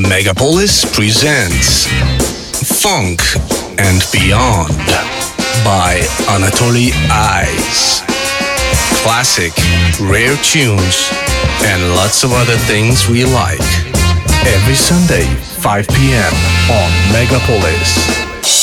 Megapolis presents Funk and Beyond by Anatoly Eyes. Classic, rare tunes, and lots of other things we like. Every Sunday, 5 p.m. on Megapolis.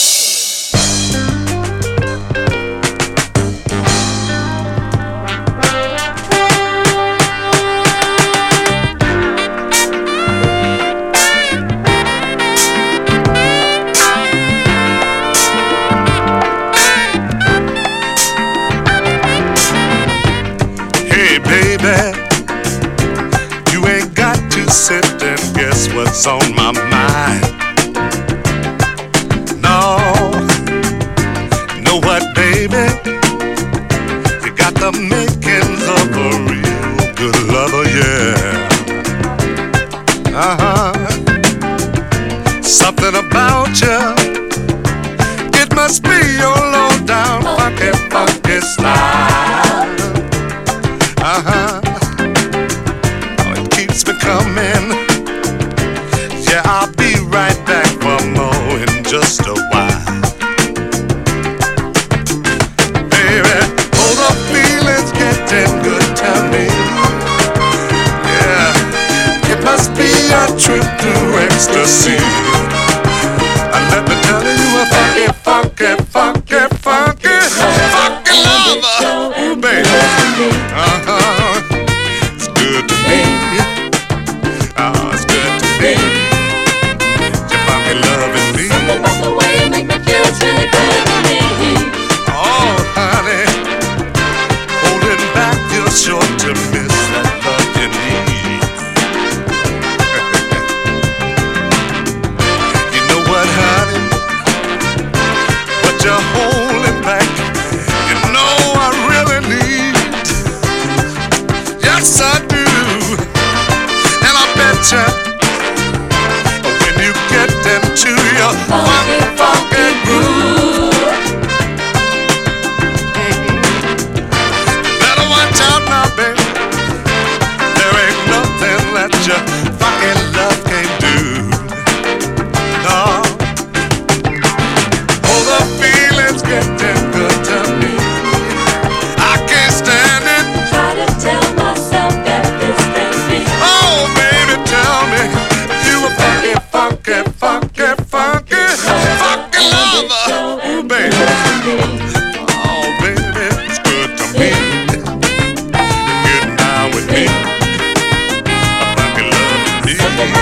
What's on my mind? No, you know what, baby? You got the makings of a real good lover, yeah. Something about you, it must be your low down funky, funky style. Oh, it keeps me coming. Yeah, I'll be right back for more in just a while. Baby, oh, the feeling's getting good to me. Yeah, it must be a trip to ecstasy. And let me tell you a funky, funky, funky, funky, funky lover. Ooh, baby, it's good to me. Oh, it's good to me. Something about the way you make me feel it's really good to me. Oh, honey, holding back, you're sure to miss that love you need. You know what, honey? What you're holding back, you know I really need. Yes, I do. And I bet you to your funky, funky groove. Better watch out now, baby. There ain't nothing that your funky love can't do. No. Oh, the feeling's getting good to me. I can't stand it. Try to tell myself that this can't be. Oh, baby, tell me you a funky, funky, funky, funky lover. Ooh, baby. Oh, baby, it's good to me. You're getting down with me. A funky love indeed.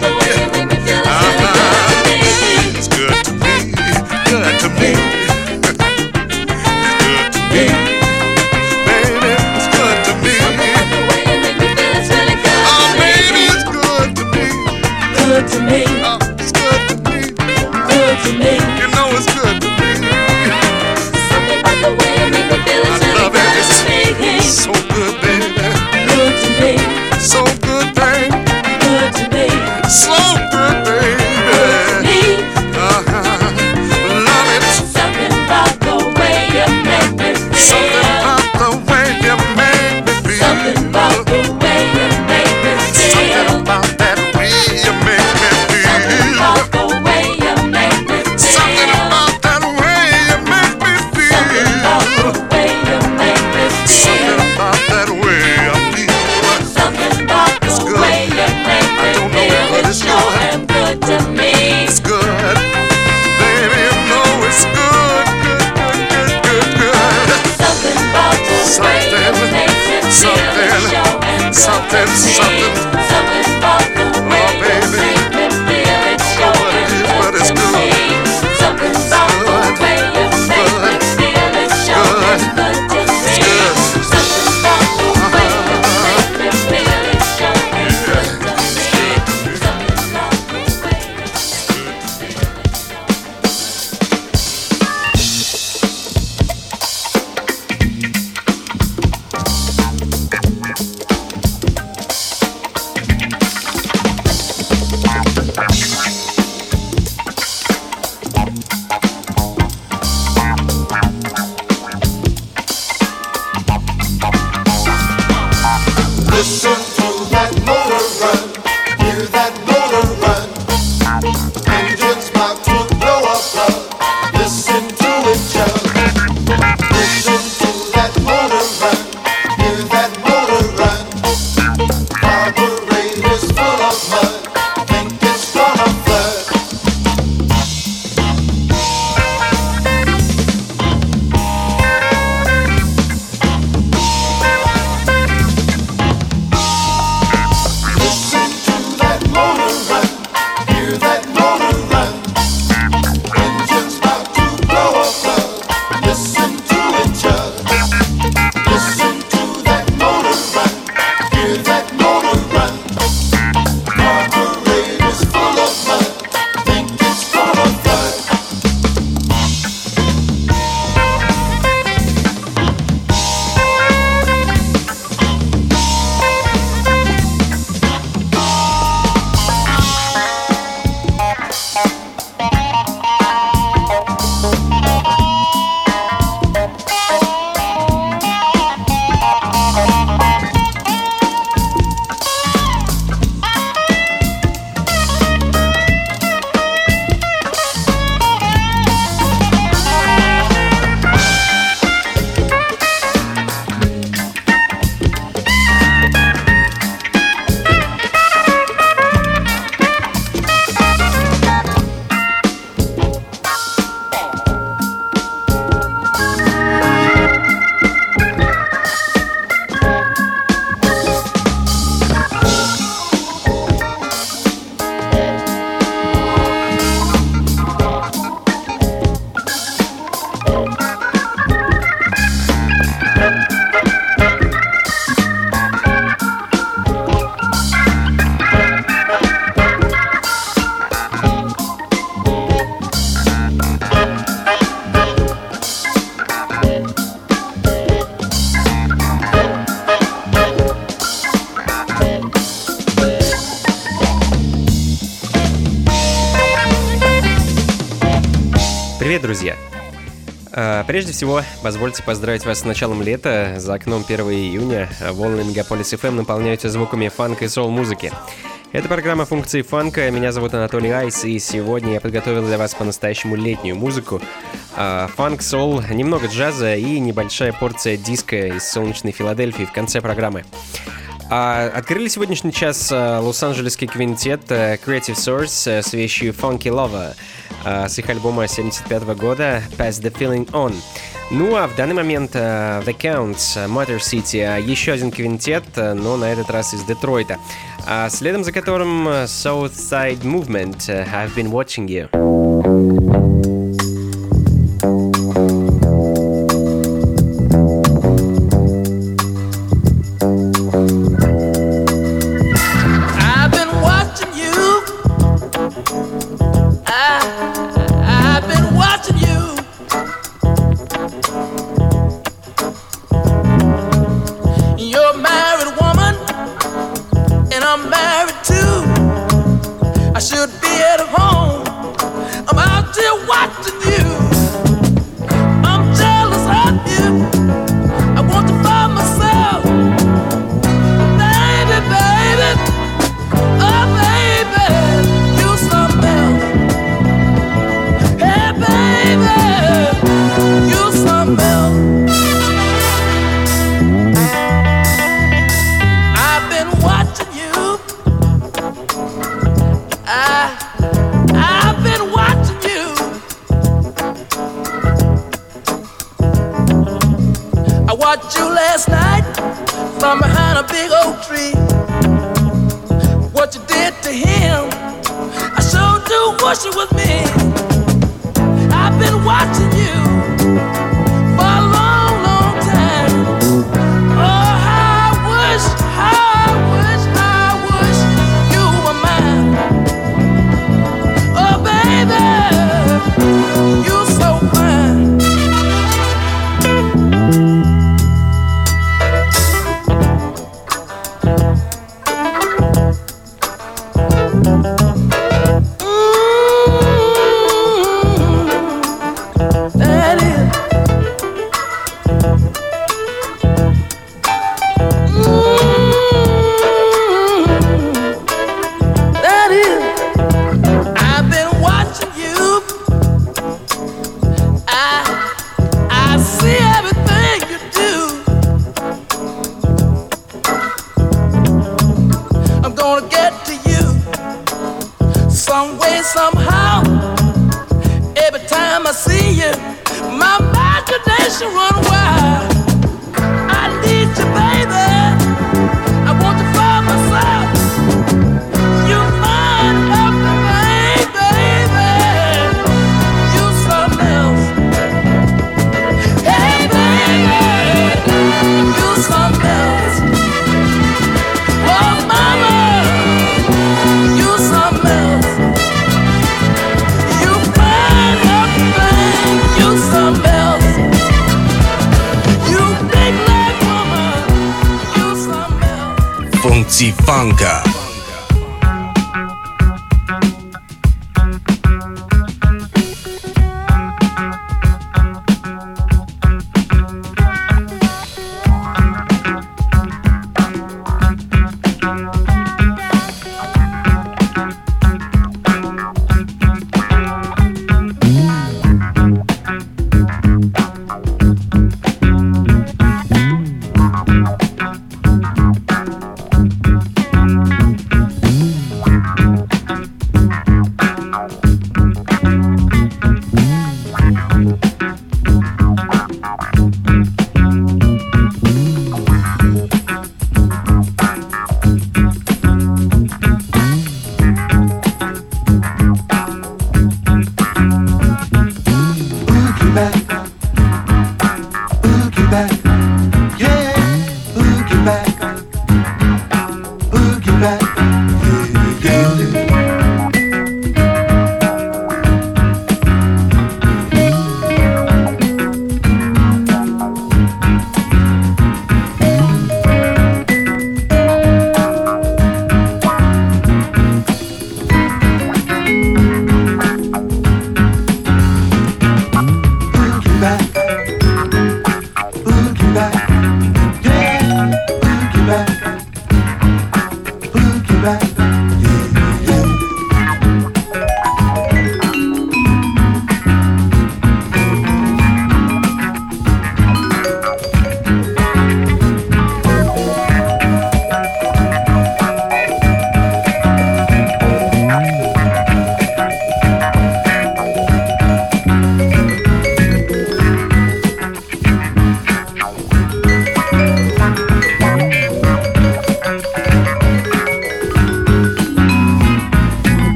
It's good to me. Good to me. It's good to me. Baby, it's good to me. Oh, baby, it's good to me. Good to me. It's good to me. Good to me. You know it's good to me. Something about the way you make me feel it's I really love good it. to me. It's so good, baby. Good to me. So good, baby. Good to me. So good, baby. Me. Love it. Something about the way you make me Something feel. about the way you make me feel. Something about the way you make me Something feel. about that way you make me Something feel. about the way you make me feel. Something about that way you make me Something about feel. the way you make me Something feel. about that way I feel. Something about It's the good. way Привет, друзья! Прежде всего, позвольте поздравить вас с началом лета. За окном 1 июня волны Мегаполис FM наполняются звуками фанка и соул-музыки. Это программа «Функции фанка». Меня зовут Анатолий Айс, и сегодня я подготовил для вас по-настоящему летнюю музыку. Фанк, соул, немного джаза и небольшая порция диска из солнечной Филадельфии в конце программы. Открыли сегодняшний час лос-анджелесский квинтет Creative Source с вещью Funky Lover с их альбома 1975 года Pass the Feeling On. Ну а в данный момент The Counts, Motor City, еще один квинтет, но на этот раз из Детройта. Следом за которым Southside Movement, I've Been Watching You. Функции фанка.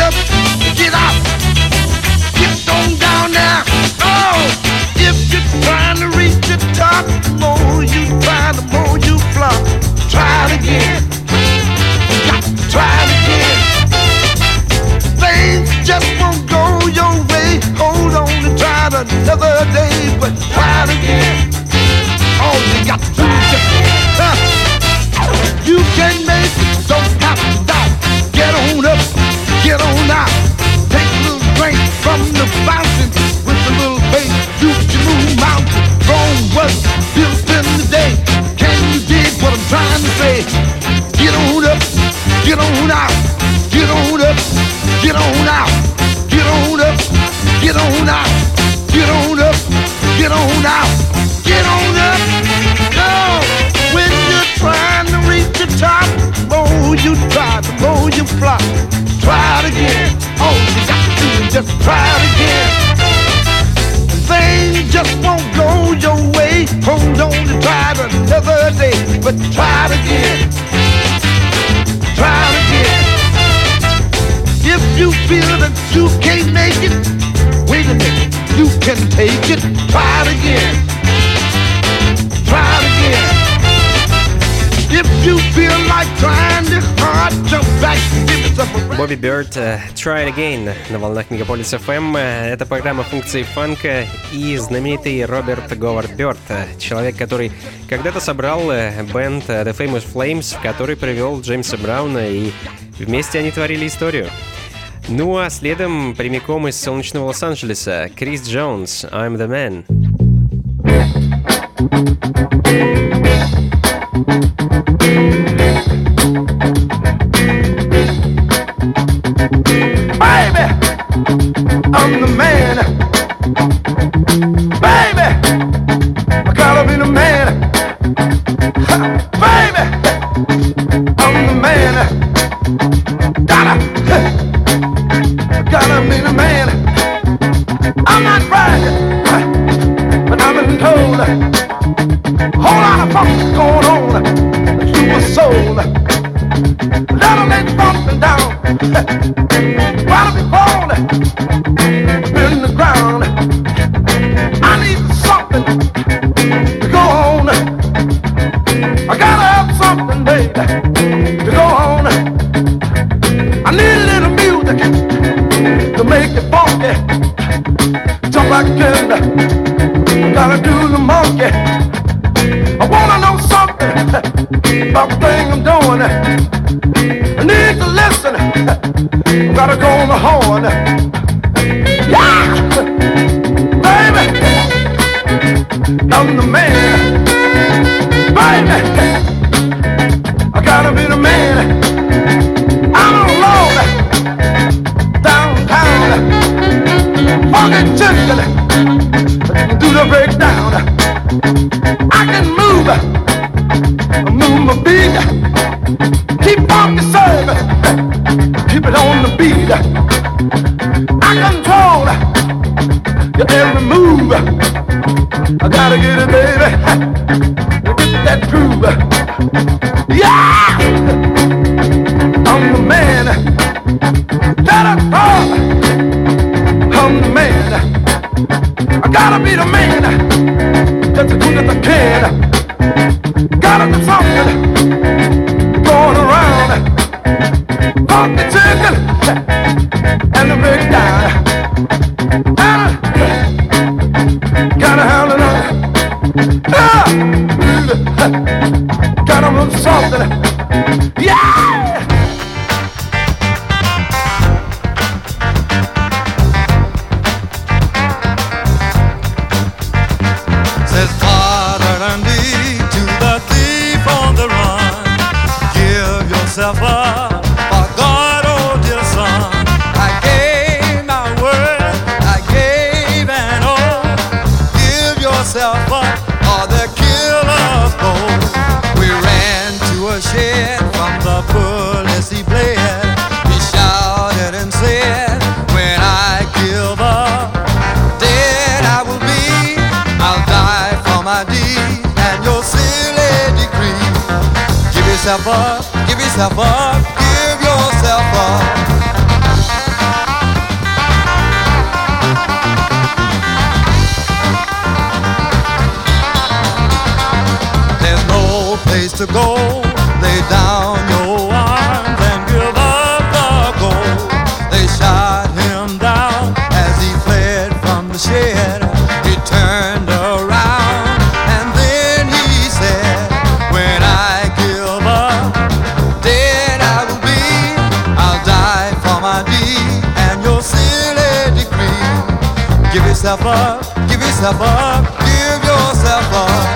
up, get out, get on down now. Oh, if you're trying to reach the top, the more you try, the more you flop. Try it again, got to try it again. Things just won't go your way. Hold on and try it another day, but try it again. All you got to do is just you can make it, don't have to stop. Get on up, get on out. Take a little drink from the fountain with a little bass. You can move mountains. Rome was built in the day. Can you dig what I'm trying to say? Get on up, get on out. Get on up, get on out. Get on up, get on out. Get on up, get on out. Get on up. No, when you're trying to reach the top, the more you try, the more you flop. Try it again. All you got to do is just try it again. Things just won't go your way. Hold on and try it another day, but try it again. Try it again. If you feel that you can't make it, wait a minute, you can take it. Try it again. Try it again. If you feel like trying this hard, jump back and give yourself a Bobby Bird, Try It Again на волнах Мегаполис FM. Это программа функции фанка и знаменитый Роберт Говард Бёрд, человек, который когда-то собрал бэнд The Famous Flames, в который привел Джеймса Брауна, и вместе они творили историю. Ну а следом прямиком из солнечного Лос-Анджелеса Крис Джонс, I'm the Man. baby, I'm the man. Baby, I gotta be the man. Baby, I'm the man. Gotta be the man. I'm not bragging, but I've been told a whole lot of funk's going on through my soul. Let 'em let bumping down. Gotta be born in the ground. I need something to go on. I gotta have something, baby, to go on. I need a little music to make it funky. Jump like a kid, gotta do the monkey. I wanna know something about the thing I'm doing. I need to listen. I gotta go on the horn. Yeah, baby, I'm the man. Baby, I gotta be the man. I'm alone downtown. Funky chicken, do the breakdown. I can move my beat. Keep funky service, keep it on the beat. I control your every move. I gotta get it, baby, get that groove. Yeah, I'm the man. I'm the man. I gotta be the man. Just as good as I can. Gotta do something going around. Pump the chicken and the breakdown. Gotta handle it. Gotta do something. Yeah. Up, for God, oh dear son, I gave my word, I gave an oath. Give yourself up, or the killer's both. We ran to a shed from the bullets he bled. He shouted and said, when I give up, dead I will be. I'll die for my deed and your silly decree. Give yourself up. Give yourself up, give yourself up. place to go. Lay down your arms and give up the ghost. They shot him down as he fled from the shed. He turned around and then he said, when I give up, dead I will be. I'll die for my deed and your silly decree. Give yourself up, give yourself up, give yourself up.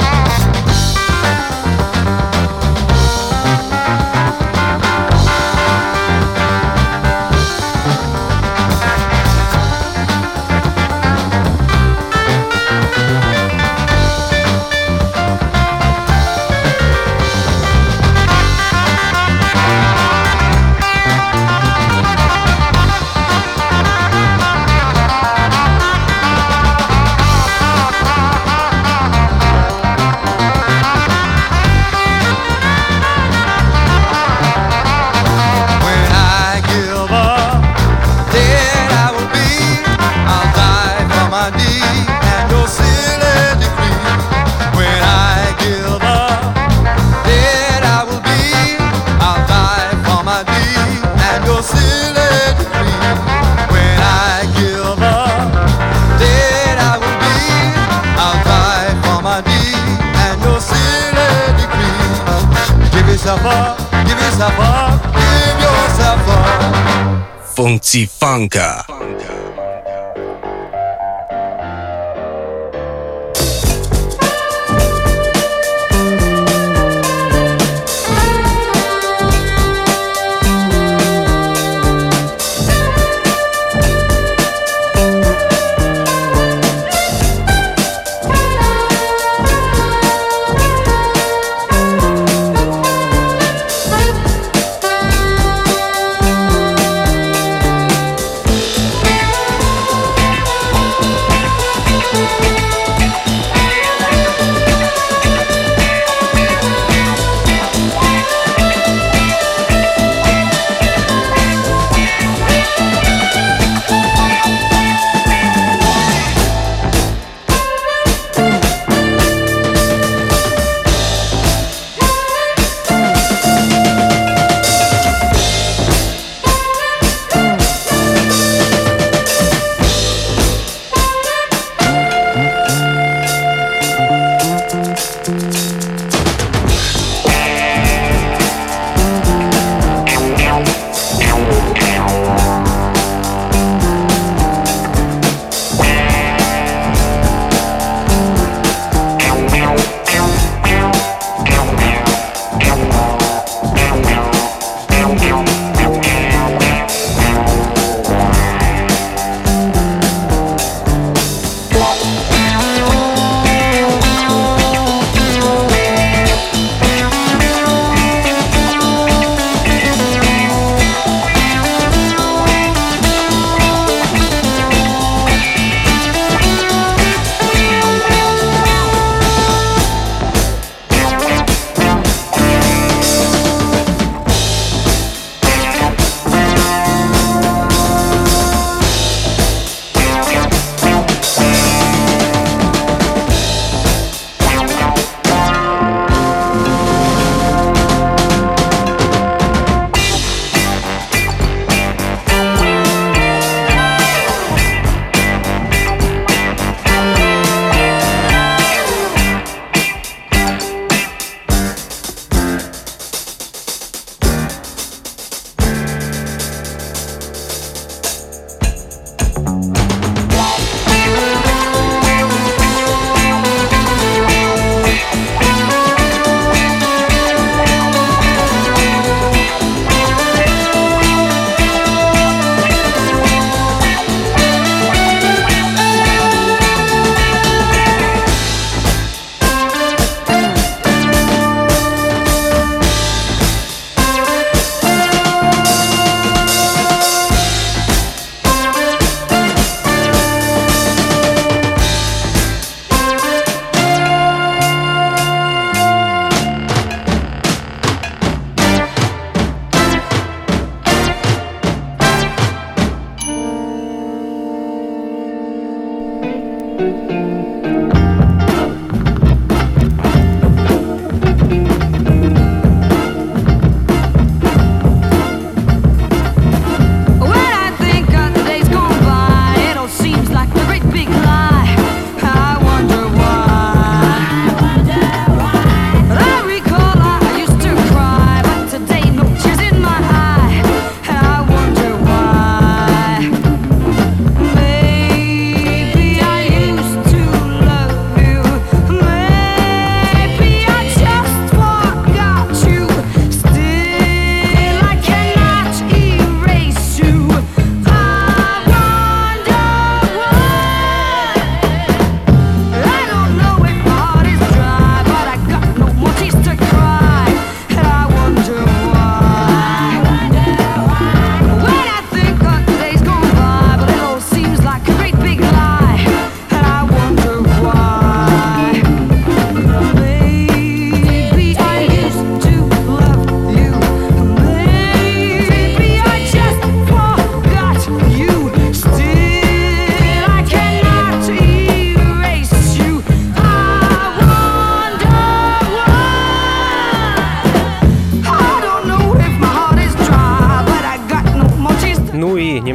Give yourself up, give yourself up. Funky Funka.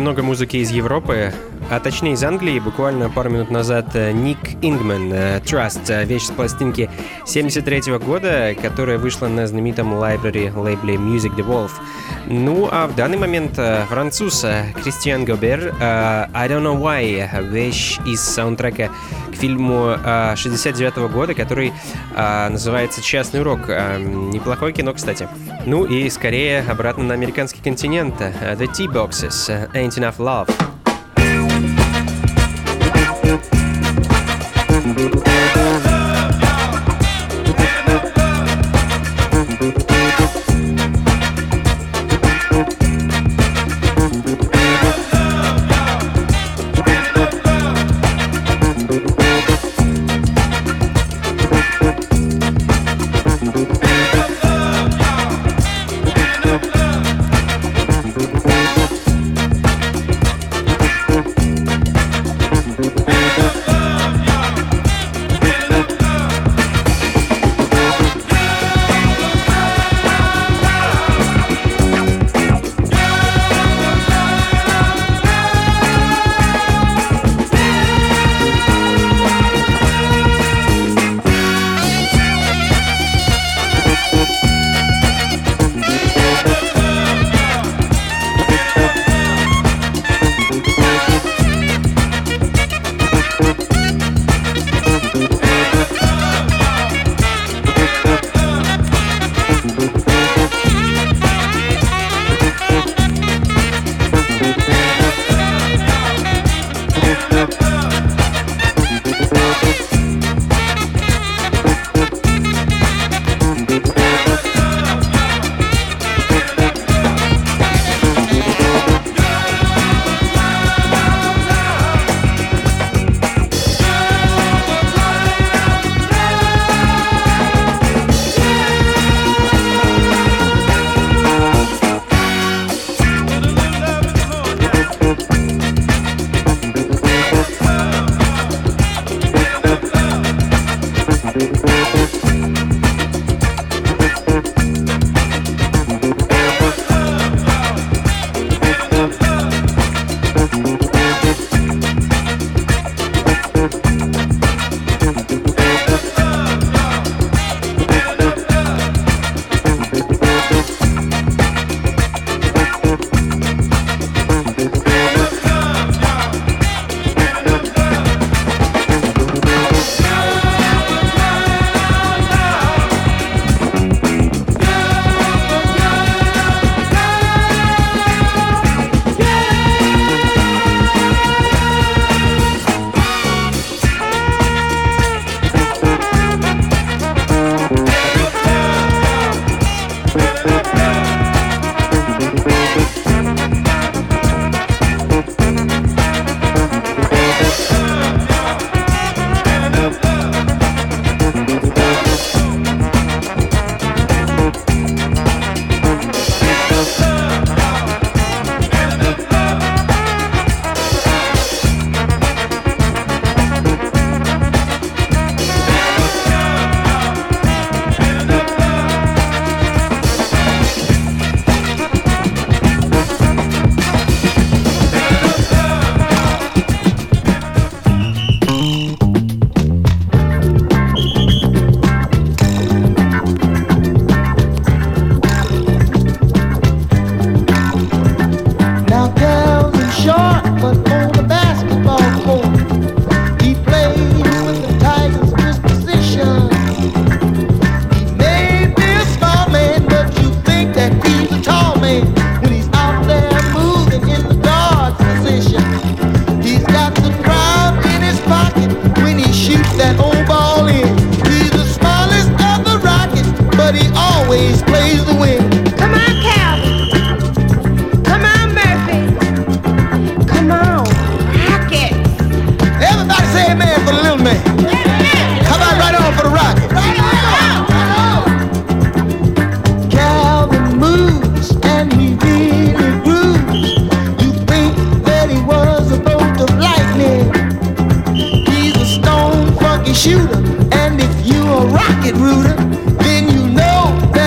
немного музыки из Европы, а точнее из Англии. Буквально пару минут назад Ник Ингман, Trust, вещь с пластинки 1973 года, которая вышла на знаменитом лайбрери лейбле Music Devolve. Ну а в данный момент француз Кристиан Гобер, I Don't Know Why, вещь из саундтрека к фильму 69 года, который называется «Частный урок». Неплохое кино, кстати. Ну и скорее обратно на американский континент. The T-Boxes, Ain't Enough Love.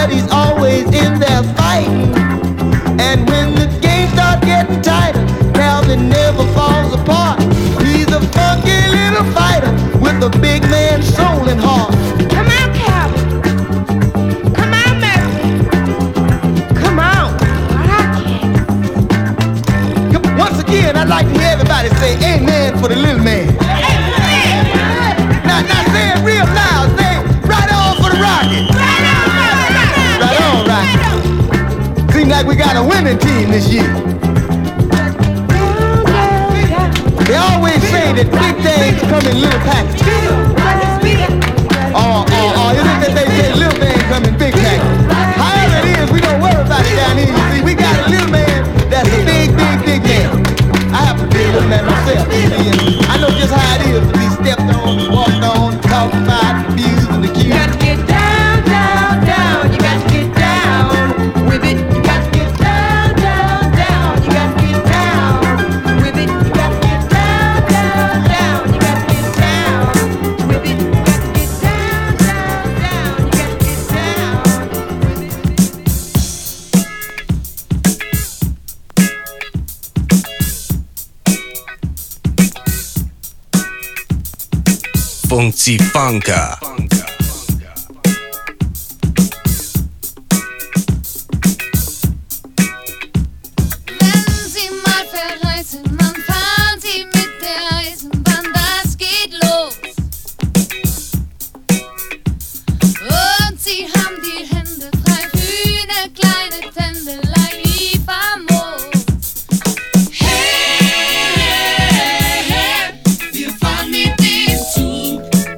And when the game starts getting tighter, now I'd like to hear everybody say amen for the little man. Now say it real loud. Say right on for the rocket. Right on, Rocket. Seems like we got a winning team this year. They always say that big things come in little packages. Or is it that they say little things come in big packages? However it is, we don't worry about it down here. You see, we got a little man that's a big man. I have to be a little man myself. You see, and I know just how it is to be stepped on, walked on, talked about, abused, and accused. You got to get down, down, down. You got to get down with it. You got to get down, down, down. You got to get down with it. You got to get down, down, down. You got to get down with it. You got to get down, down, down. You got to get down with it. Funkcji Funka. Wenn Sie mal verreisen, dann fahren Sie mit der Eisenbahn, das geht los. Und Sie haben die Hände frei für eine kleine Tändelei wie famos. Hey, hey, hey, wir fahren mit dem Zug.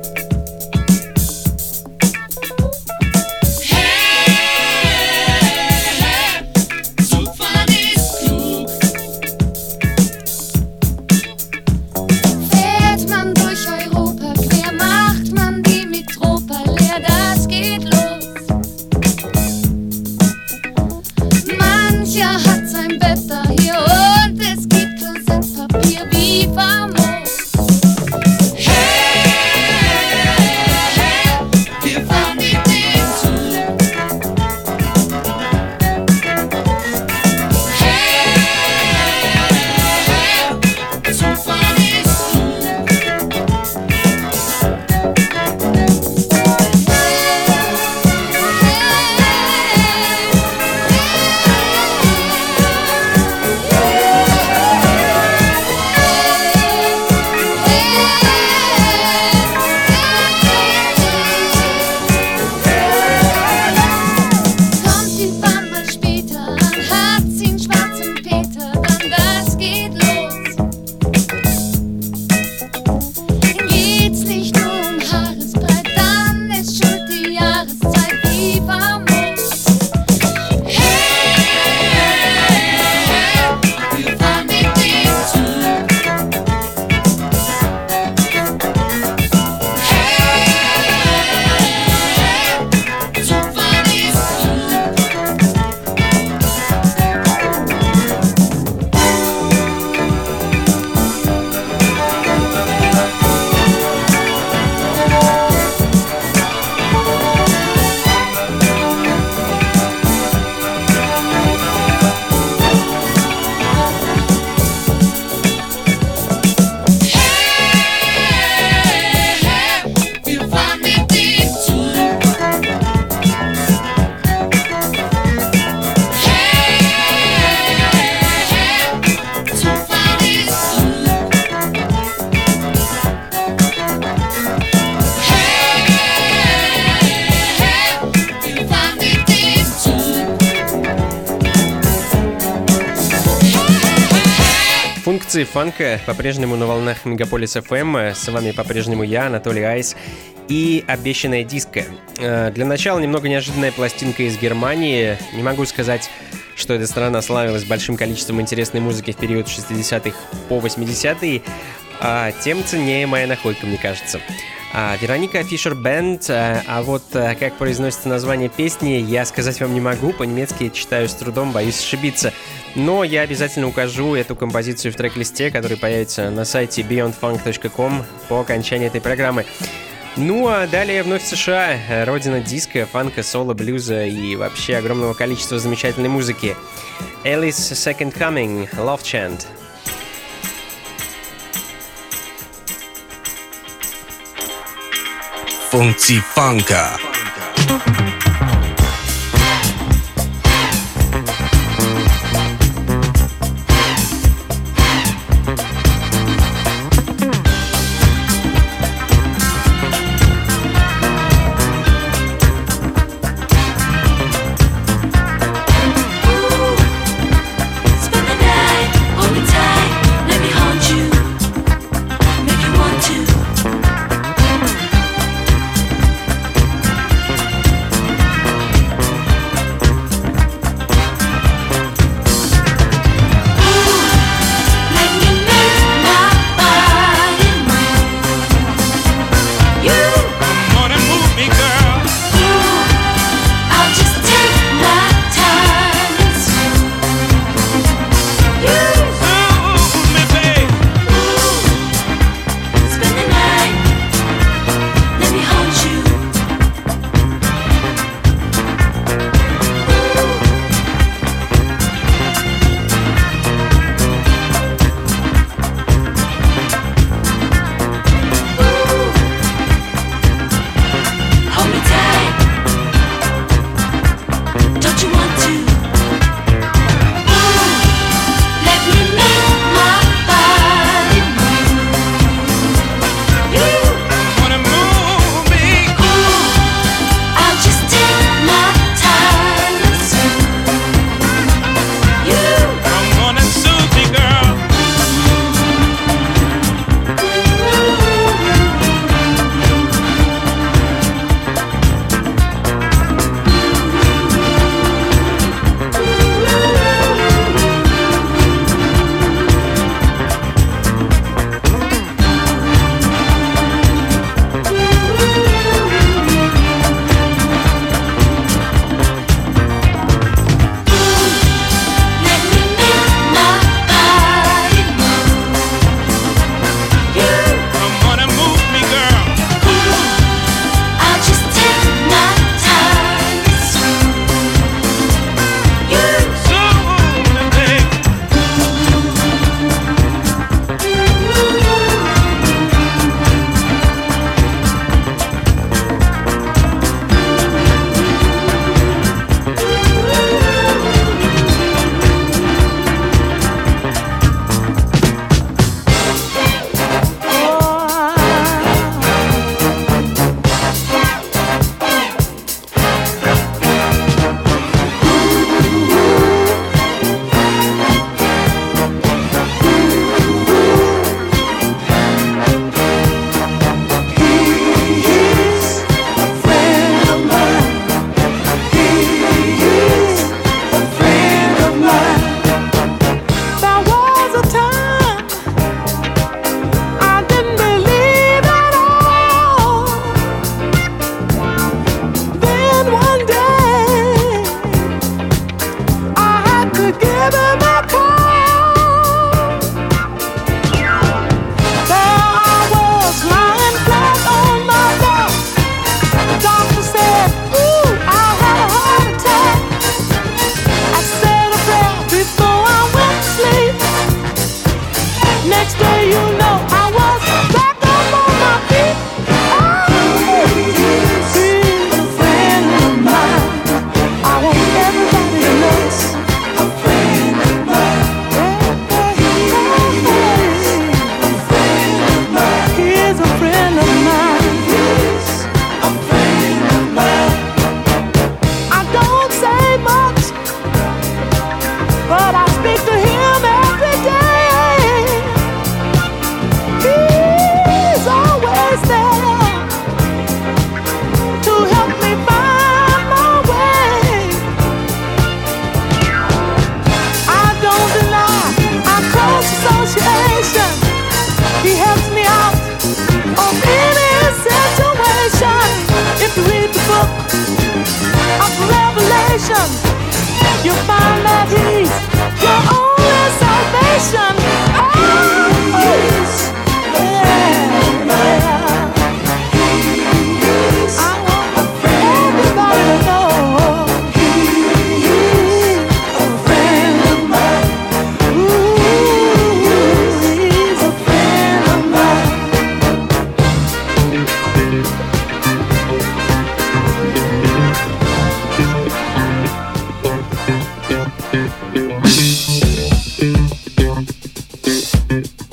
Функции фанка по-прежнему на волнах Мегаполис FM. С вами по-прежнему я, Анатолий Айс, и обещанная диско. Для начала немного неожиданная пластинка из Германии. Не могу сказать, что эта страна славилась большим количеством интересной музыки в период 60-х по 80-е, тем ценнее моя находка, мне кажется. Вероника Фишер Бэнд, а вот как произносится название песни, я сказать вам не могу, по-немецки читаю с трудом, боюсь ошибиться. Но я обязательно укажу эту композицию в трек-листе, который появится на сайте beyondfunk.com по окончании этой программы. Ну а далее вновь США, родина диска, фанка, соло, блюза и вообще огромного количества замечательной музыки. Alice Second Coming, Love Chant. Funkcji Funka.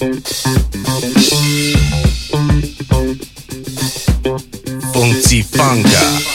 Funky Funka.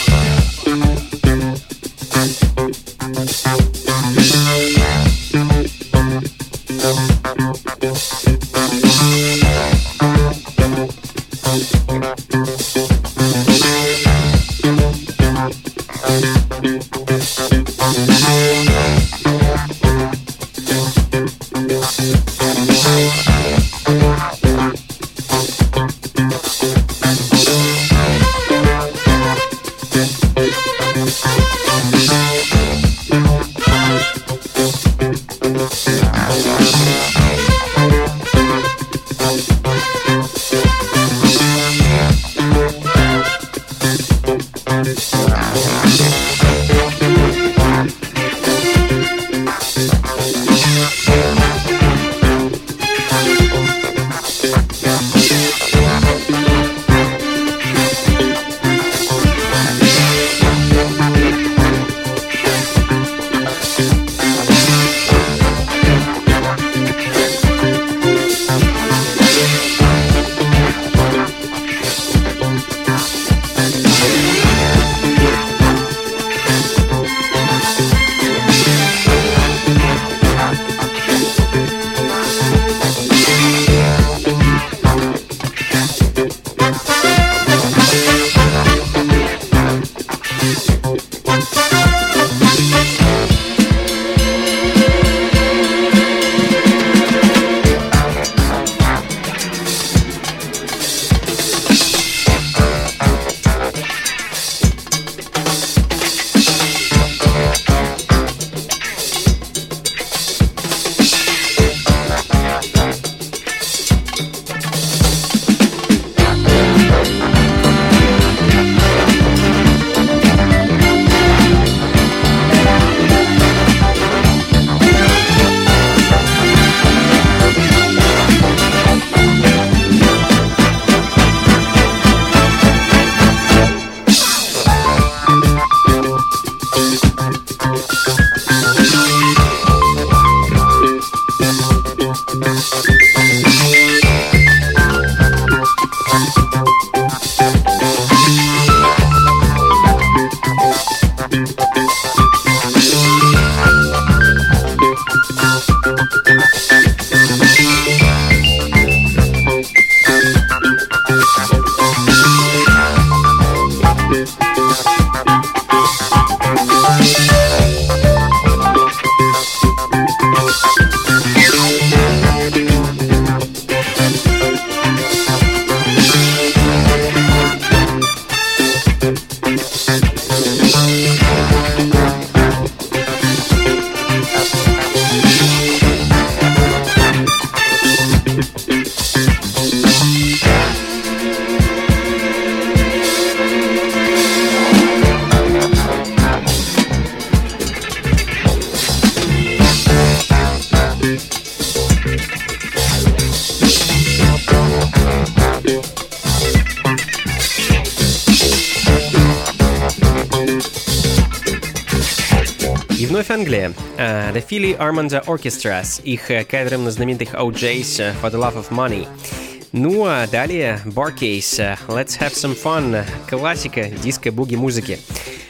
Вновь Англия. The Philly Armada Orchestra с их кавером на знаменитых OJ's For the Love of Money. Ну а далее Barcase Let's Have Some Fun, классика диско-буги музыки.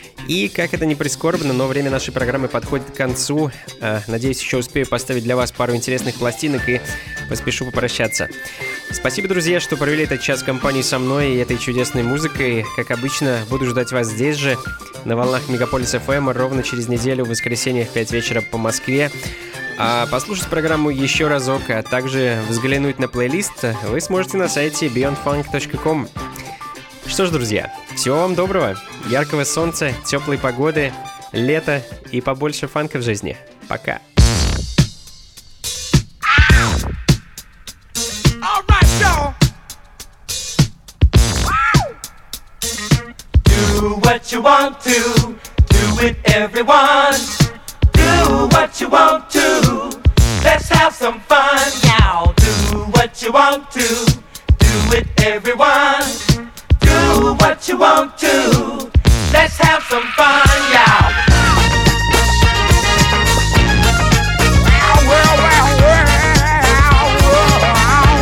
И, как это ни прискорбно, но время нашей программы подходит к концу. Надеюсь, еще успею поставить для вас пару интересных пластинок и поспешу попрощаться. Спасибо, друзья, что провели этот час в компании со мной и этой чудесной музыкой. Как обычно, буду ждать вас здесь же, на волнах Мегаполис FM, ровно через неделю, в воскресенье в 5 вечера по Москве. А послушать программу еще разок, а также взглянуть на плейлист вы сможете на сайте beyondfunk.com. Что ж, друзья, всего вам доброго, яркого солнца, теплой погоды, лета и побольше фанка в жизни. Пока. Do what you want to, do it everyone. Do what you want to, let's have some fun, y'all. Do what you want to, do it everyone. Do what you want to, let's have some fun, y'all. Well, well, well, well, well.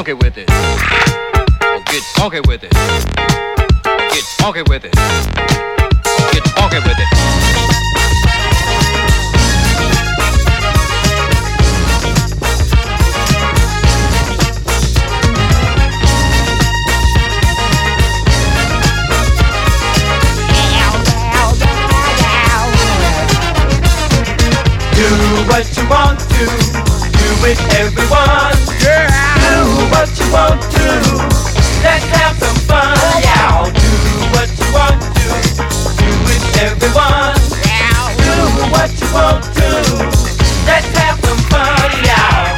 funky with it. Get funky with it. Get funky with it. Get funky with it. Do what you want to, do it everyone. Yeah. Do what you want to, let's have some fun. Yeah. Do what you want to, do it everyone. Do what you want to, let's have some fun. Yeah.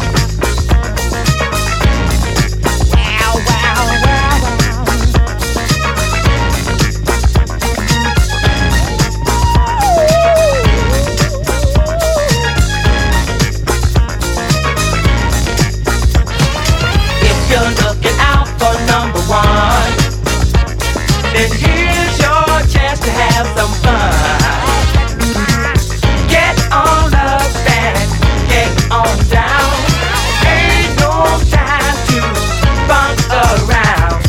You're looking out for number one, then here's your chance to have some fun. Get on up and get on down. Ain't no time to bump around.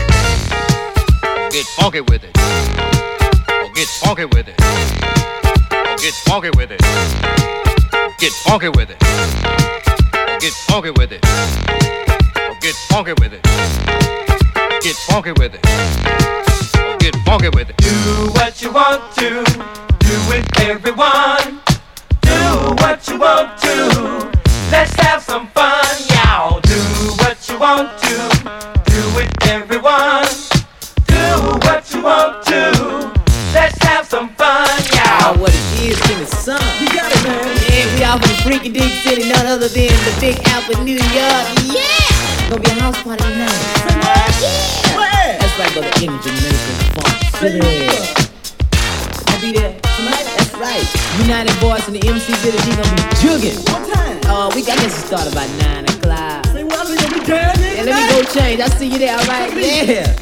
Get funky with it. Get funky with it. Get funky with it. Get funky with it. Get funky with it. Get funky with it. Get funky with it. Get funky with it. Do what you want to, do it everyone. Do what you want to, let's have some fun. Y'all do what you want to, do it everyone. Do what you want to, let's have some fun. Y'all. What it is, King of Sun. You got it, man. Yeah, we out from the freaky dig city, none other than the Big Apple, New York. Yeah! Gonna be a house party tonight. Yeah! Where? That's right, brother, in Jamaica, Funk City. I'll be there tonight. That's right. United Boys and the MC Village gonna be jugging. What time? We got this to start about 9 o'clock. Say what? We gonna be jamming? Yeah, let me go change. I'll see you there, all right? Yeah.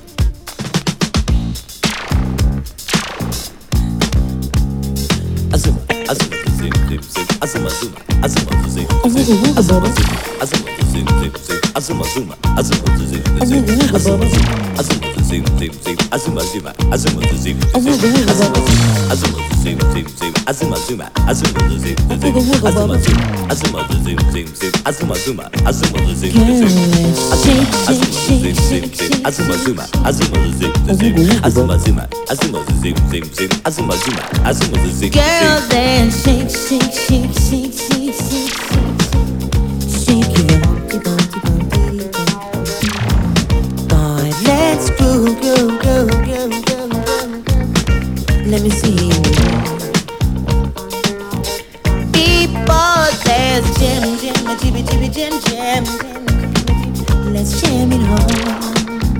Azuma, Azuma, zim, zim, zim, Azuma, Zuma, Azuma, zim, zim, Azuma, Zuma, Azuma, zim, zim, zim, Azuma, Zuma, Azuma, zim, zim, Azuma, Azuma, zim, zim, zim, Azuma, Zuma, Azuma, zim, Azuma, zim, zim, zim, Azuma, Zuma, Azuma, zim, Azuma, Azuma, zim, zim, zim, Azuma, Zuma, Azuma, zim, Azuma, zim, zim, zim, Azuma, Zuma, Azuma, zim, Azuma, Zuma, Azuma, zim, zim, zim, Azuma, Zuma, Azuma, zim. Girl, then shake, shake, shake, shake, shake, shake, shake your bumpy, bumpy, bumpy, bumpy. Boy, let's groove, groove, groove, groove, groove, groove. Let me see you. People, there's jam, jam, a jibby, jibby, jam, jam, jam. Let's jam it home.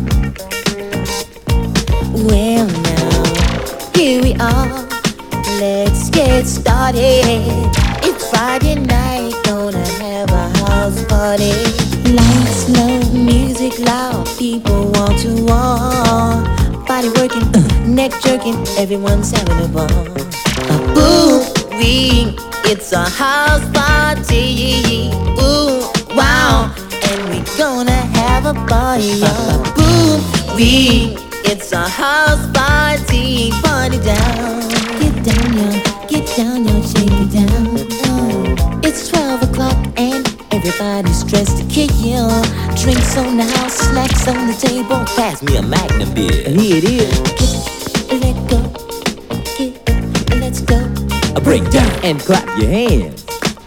Well, now, here we are. Let's get started. It's Friday night, gonna have a house party. Lights low, music loud, people want to walk. Body working, neck jerking, everyone's having a ball. A boom, it's a house party. Ooh, wow, and we gonna have a party. A boom, it's a house party. Party down. Get down, y'all, shake it down. It's 12 o'clock and everybody's dressed to kill. Drinks on the house, snacks on the table. Pass me a Magnum beer. Here it is. Let go, let's go. Break down and clap your hands.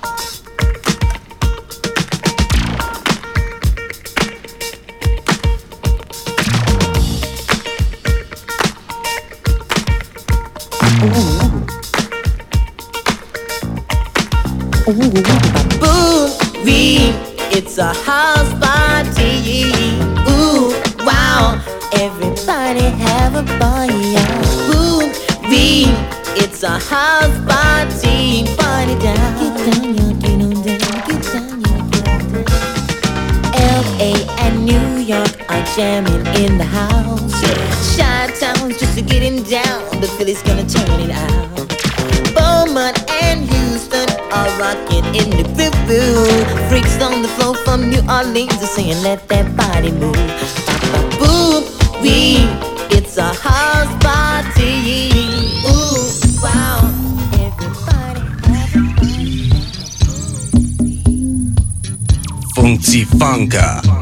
Boom, it's a house party. Ooh, wow, everybody have a party. Boom, it's a house party. Party down. Get down, y'all, get on down. Get down, y'all, get on down. L.A. and New York are jamming in the house. Chi-Town's just a getting down, but Philly's gonna turn it out. Beaumont and Houston are rocking in the groove. Freaks on the floor from New Orleans are saying, let that body move. Boom, wee, it's a house party. Ooh, wow, everybody. Funky Funka.